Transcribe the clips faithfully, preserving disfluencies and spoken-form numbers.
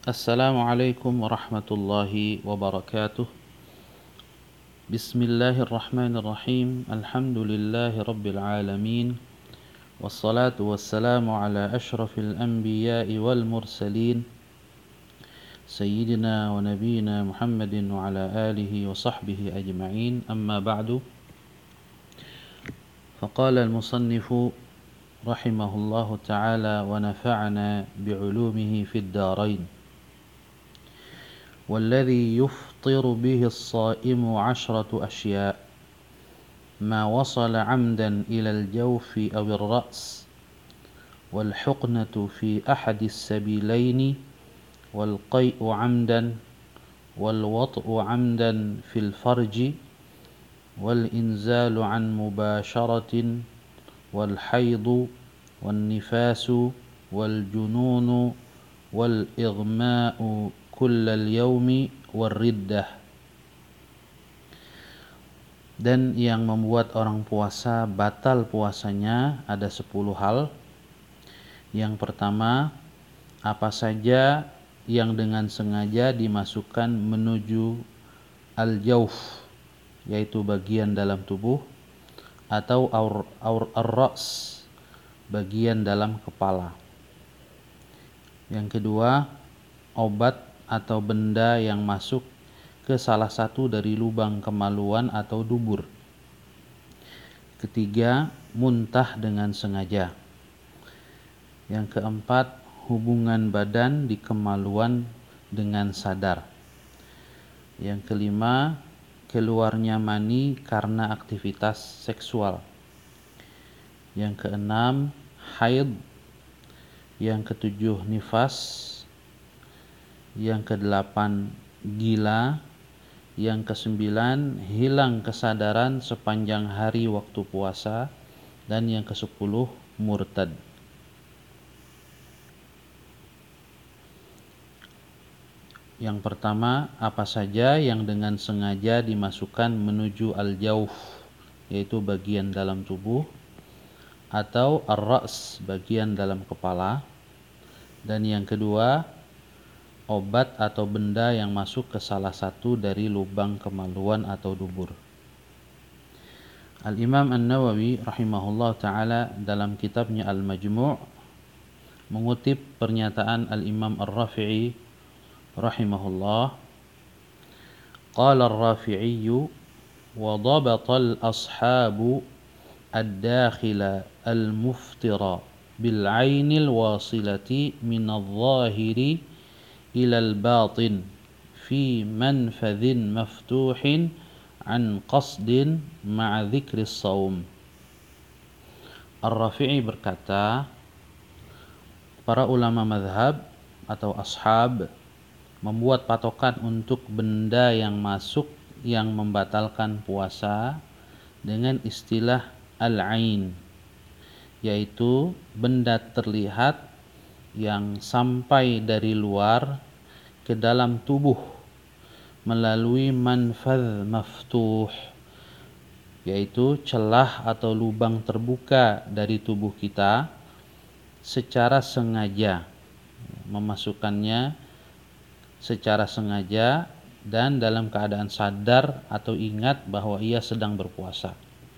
Assalamualaikum warahmatullahi wabarakatuh. Bismillahirrahmanirrahim. Alhamdulillahi rabbil alamin. Wassalatu wassalamu ala ashrafil anbiya'i wal mursalin. Sayyidina wa nabiyina Muhammadin wa ala alihi wa sahbihi ajma'in. Amma ba'du. Faqala al-musannifu rahimahullahu ta'ala wa nafa'ana bi'ulumihi fid darain. والذي يفطر به الصائم عشرة أشياء ما وصل عمدا إلى الجوف أو الرأس والحقنة في أحد السبيلين والقيء عمدا والوطء عمدا في الفرج والإنزال عن مباشرة والحيض والنفاس والجنون والإغماء kullal yaumi warriddah. Dan yang membuat orang puasa batal puasanya ada sepuluh hal. Yang pertama, apa saja yang dengan sengaja dimasukkan menuju al-jauf, yaitu bagian dalam tubuh, atau aur, aur ar-ra's, bagian dalam kepala. Yang kedua, obat atau benda yang masuk ke salah satu dari lubang kemaluan atau dubur. Ketiga, muntah dengan sengaja. Yang keempat, hubungan badan di kemaluan dengan sadar. Yang kelima, keluarnya mani karena aktivitas seksual. Yang keenam, haid. Yang ketujuh, nifas. Yang kedelapan, gila. Yang kesembilan, hilang kesadaran sepanjang hari waktu puasa. Dan yang kesepuluh, murtad. Yang pertama, apa saja yang dengan sengaja dimasukkan menuju al-jauf, yaitu bagian dalam tubuh, atau ar-ra's, bagian dalam kepala. Dan yang kedua, obat atau benda yang masuk ke salah satu dari lubang kemaluan atau dubur. Al-Imam An-Nawawi rahimahullah ta'ala dalam kitabnya Al-Majmu' mengutip pernyataan Al-Imam Ar-Rafi'i rahimahullah. Qala Ar-Rafi'i wa dhabata al-ashabu ad-dakhila al-muftira bil-'ainil wasilati min adh-dhahiri ilal batin fi manfadhin maftuhin an qasdin ma'a dzikris saum. Ar-Rafi'i berkata, para ulama mazhab atau ashab membuat patokan untuk benda yang masuk yang membatalkan puasa dengan istilah al-ain, yaitu benda terlihat yang sampai dari luar ke dalam tubuh melalui manfadh maftuh, yaitu celah atau lubang terbuka dari tubuh kita secara sengaja, memasukkannya secara sengaja dan dalam keadaan sadar atau ingat bahwa ia sedang berpuasa.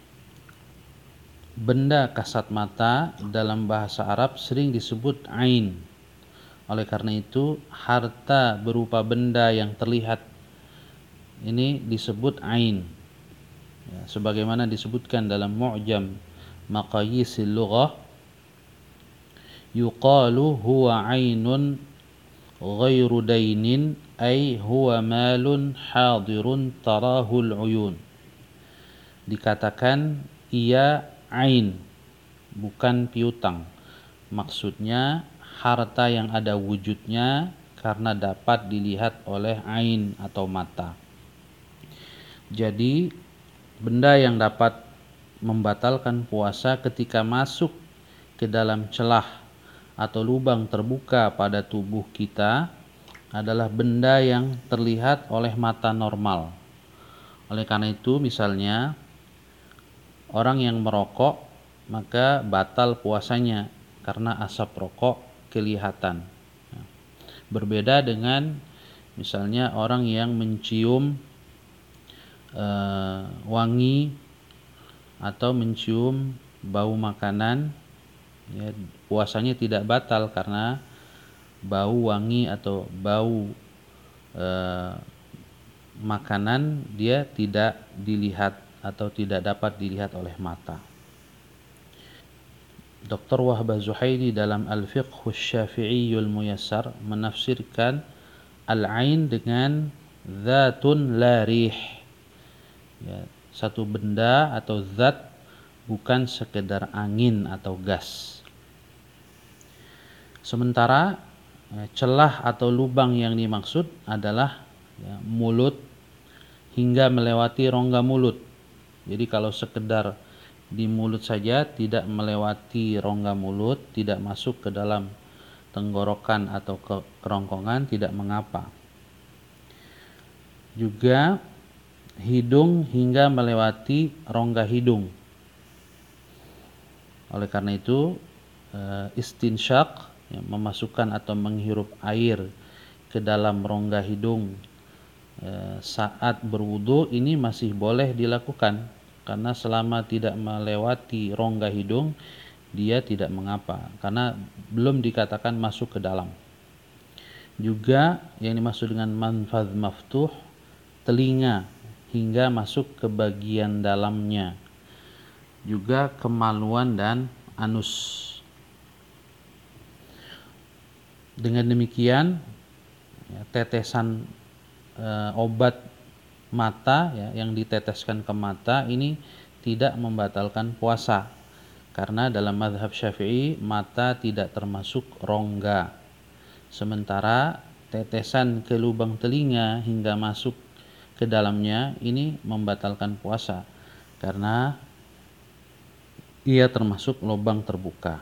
Benda kasat mata dalam bahasa Arab sering disebut ain. Oleh karena itu, harta berupa benda yang terlihat ini disebut ain. Ya, sebagaimana disebutkan dalam Mu'jam Maqayisil Lughah, yuqalu huwa ainun ghairu dainin, ay huwa malun hadirun tarahul uyun. Dikatakan ia ain, bukan piutang. Maksudnya harta yang ada wujudnya karena dapat dilihat oleh ain atau mata. Jadi benda yang dapat membatalkan puasa ketika masuk ke dalam celah atau lubang terbuka pada tubuh kita adalah benda yang terlihat oleh mata normal. Oleh karena itu, misalnya orang yang merokok, maka batal puasanya karena asap rokok kelihatan. Berbeda dengan misalnya orang yang mencium uh, wangi atau mencium bau makanan, ya, puasanya tidak batal karena bau wangi atau bau uh, makanan dia tidak dilihat atau tidak dapat dilihat oleh mata. Doktor Wahbah Zuhaili dalam Al-Fiqh Syafi'iyul Muyassar menafsirkan al-ain dengan zatun la rih, ya, satu benda atau zat bukan sekedar angin atau gas. Sementara ya, celah atau lubang yang dimaksud adalah ya, mulut hingga melewati rongga mulut. Jadi kalau sekedar di mulut saja, tidak melewati rongga mulut, tidak masuk ke dalam tenggorokan atau ke kerongkongan, tidak mengapa. Juga hidung hingga melewati rongga hidung. Oleh karena itu istinsyak, ya, memasukkan atau menghirup air ke dalam rongga hidung e, saat berwudu ini masih boleh dilakukan, karena selama tidak melewati rongga hidung dia tidak mengapa, karena belum dikatakan masuk ke dalam. Juga yang dimaksud dengan manfadh maftuh, telinga hingga masuk ke bagian dalamnya. Juga kemaluan dan anus. Dengan demikian ya, tetesan e, obat mata ya, yang diteteskan ke mata ini tidak membatalkan puasa, karena dalam mazhab Syafi'i mata tidak termasuk rongga. Sementara tetesan ke lubang telinga hingga masuk ke dalamnya ini membatalkan puasa, karena ia termasuk lubang terbuka.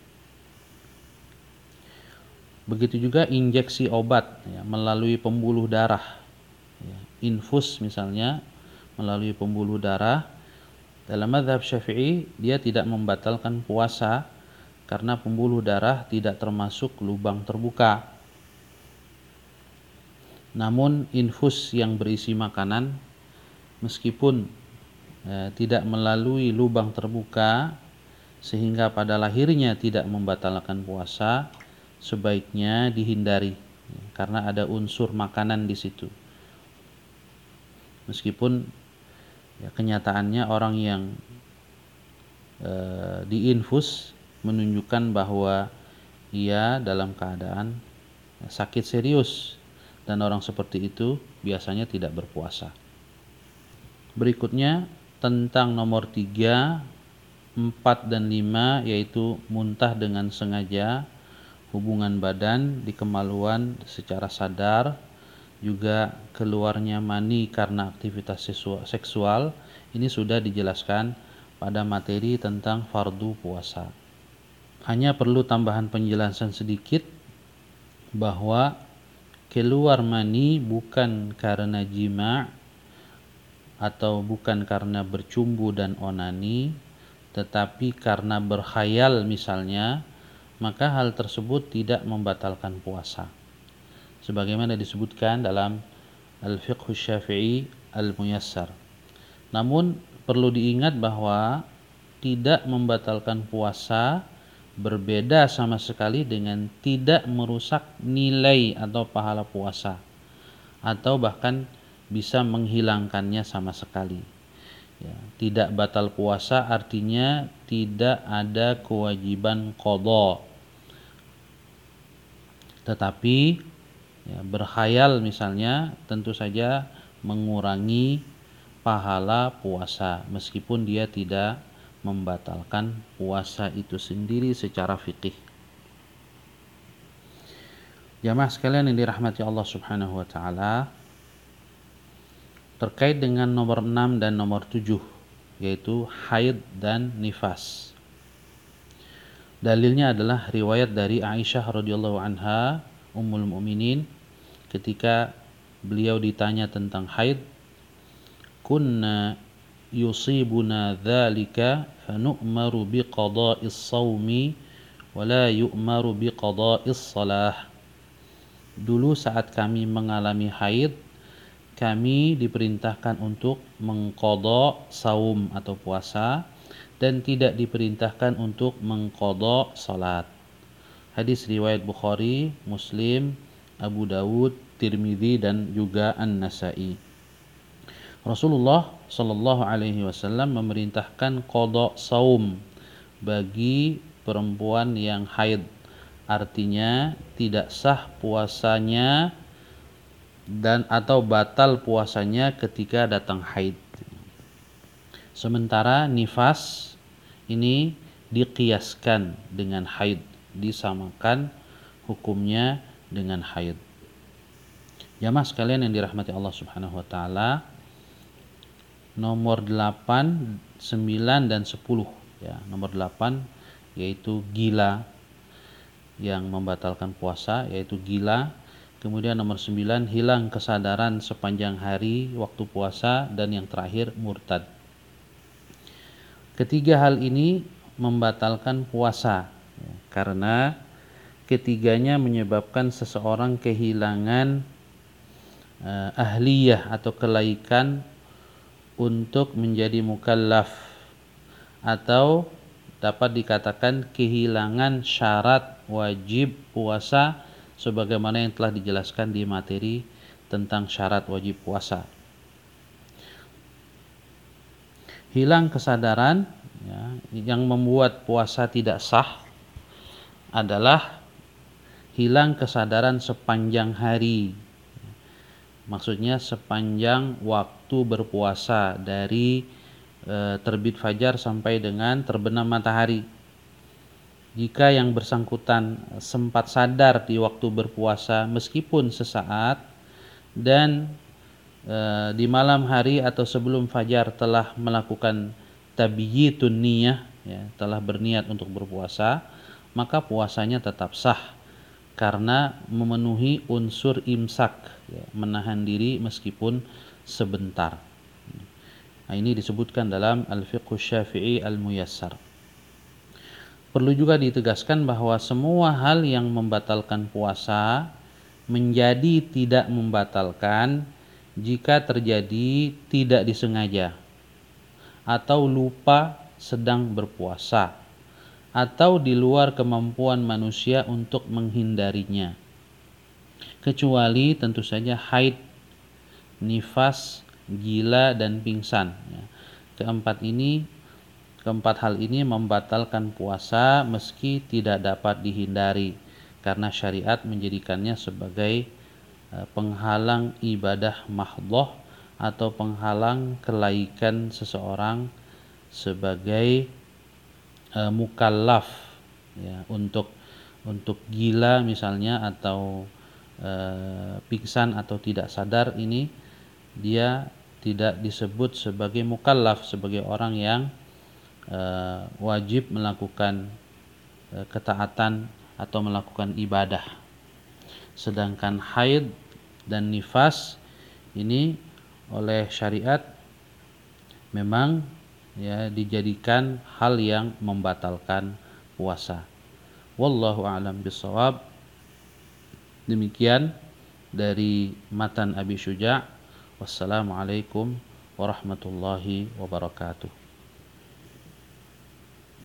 Begitu juga injeksi obat ya, melalui pembuluh darah, ya, infus misalnya melalui pembuluh darah. Dalam mazhab Syafi'i dia tidak membatalkan puasa karena pembuluh darah tidak termasuk lubang terbuka. Namun infus yang berisi makanan meskipun eh, tidak melalui lubang terbuka sehingga pada lahirnya tidak membatalkan puasa, sebaiknya dihindari ya, karena ada unsur makanan di situ. Meskipun ya, kenyataannya orang yang e, diinfus menunjukkan bahwa ia dalam keadaan ya, sakit serius, dan orang seperti itu biasanya tidak berpuasa. Berikutnya tentang nomor tiga, empat dan lima, yaitu muntah dengan sengaja, hubungan badan di kemaluan secara sadar, juga keluarnya mani karena aktivitas seksual. Ini sudah dijelaskan pada materi tentang fardu puasa. Hanya perlu tambahan penjelasan sedikit bahwa keluar mani bukan karena jima' atau bukan karena bercumbu dan onani, tetapi karena berkhayal misalnya, maka hal tersebut tidak membatalkan puasa. Sebagaimana disebutkan dalam Al-Fiqh Syafi'i Al-Muyassar. Namun perlu diingat bahwa tidak membatalkan puasa berbeda sama sekali dengan tidak merusak nilai atau pahala puasa, atau bahkan bisa menghilangkannya sama sekali. Ya, tidak batal puasa artinya tidak ada kewajiban qadha. Tetapi ya, berkhayal misalnya tentu saja mengurangi pahala puasa meskipun dia tidak membatalkan puasa itu sendiri secara fikih. Jamaah sekalian yang dirahmati Allah Subhanahu wa taala, terkait dengan nomor enam dan nomor tujuh, yaitu haid dan nifas. Dalilnya adalah riwayat dari Aisyah radhiyallahu anha, Ummul Mukminin, ketika beliau ditanya tentang haid, kunna yusibuna dzalika fanu'maru biqada'is shaumi wa la yu'maru biqada'is shalah. dulu saat kami mengalami haid, kami diperintahkan untuk mengqadha saum atau puasa dan tidak diperintahkan untuk mengqadha salat. Hadis riwayat Bukhari, Muslim, Abu Dawud, Tirmidzi dan juga An-Nasa'i. Rasulullah Shallallahu Alaihi Wasallam memerintahkan qadha saum bagi perempuan yang haid, artinya tidak sah puasanya dan atau batal puasanya ketika datang haid. Sementara nifas ini diqiyaskan dengan haid, disamakan hukumnya dengan haid. Jamaah sekalian yang dirahmati Allah Subhanahu wa taala, nomor delapan, sembilan dan sepuluh ya. Nomor delapan yaitu gila yang membatalkan puasa, yaitu gila. Kemudian nomor sembilan hilang kesadaran sepanjang hari waktu puasa, dan yang terakhir murtad. Ketiga hal ini membatalkan puasa ya, karena ketiganya menyebabkan seseorang kehilangan uh, ahliyah atau kelaikan untuk menjadi mukallaf, atau dapat dikatakan kehilangan syarat wajib puasa sebagaimana yang telah dijelaskan di materi tentang syarat wajib puasa. Hilang kesadaran ya, yang membuat puasa tidak sah adalah hilang kesadaran sepanjang hari. Maksudnya sepanjang waktu berpuasa, dari e, terbit fajar sampai dengan terbenam matahari. Jika yang bersangkutan sempat sadar di waktu berpuasa meskipun sesaat, dan e, di malam hari atau sebelum fajar telah melakukan tabyitun niyah ya, telah berniat untuk berpuasa, maka puasanya tetap sah karena memenuhi unsur imsak ya, menahan diri meskipun sebentar. Nah, ini disebutkan dalam Al-Fiqh Syafi'i Al-Muyassar. Perlu juga ditegaskan bahwa semua hal yang membatalkan puasa menjadi tidak membatalkan jika terjadi tidak disengaja, atau lupa sedang berpuasa, atau di luar kemampuan manusia untuk menghindarinya, kecuali tentu saja haid, nifas, gila, dan pingsan. Keempat ini, keempat hal ini membatalkan puasa meski tidak dapat dihindari, karena syariat menjadikannya sebagai penghalang ibadah mahdhah atau penghalang kelaikan seseorang sebagai Uh, mukallaf ya, untuk untuk gila misalnya, atau uh, pingsan atau tidak sadar, ini dia tidak disebut sebagai mukallaf, sebagai orang yang uh, wajib melakukan uh, ketaatan atau melakukan ibadah. Sedangkan haid dan nifas ini oleh syariat memang ya dijadikan hal yang membatalkan puasa. Wallahu a'lam bishawab. Demikian dari matan Abi Syuja'. Wassalamualaikum warahmatullahi wabarakatuh.